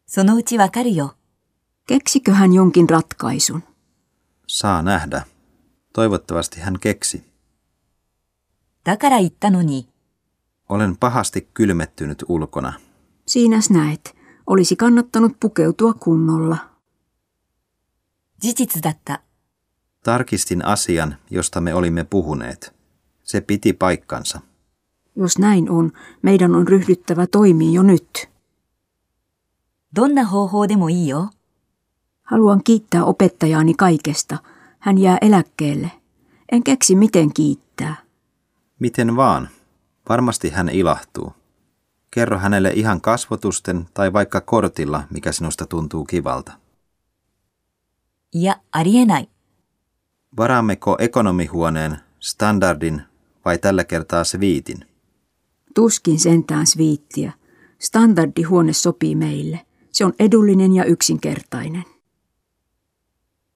そのうちわかるよ。 Keksikö hän jonkin ratkaisun? Saa nähdä. Toivottavasti hän keksi. だから言ったのに。 Olen pahasti kylmettynyt ulkona. Siinäs näet. Olisi kannattanut pukeutua kunnolla. 事実だった。 Tarkistin asian, josta me olimme puhuneet. Se piti paikkansa. Jos näin on, meidän on ryhdyttävä toimiin jo nyt. どんな方法でもいいよ。 Haluan kiittää opettajaani kaikesta. Hän jää eläkkeelle. En keksi miten kiittää. Miten vaan. Varmasti hän ilahtuu. Kerro hänelle ihan kasvotusten tai vaikka kortilla, mikä sinusta tuntuu kivalta. いや、ありえない。 Varaammeko ekonomihuoneen, standardin vai tällä kertaa sviitin? Tuskin sentään sviittiä. Standardihuone sopii meille. Se on edullinen ja yksinkertainen.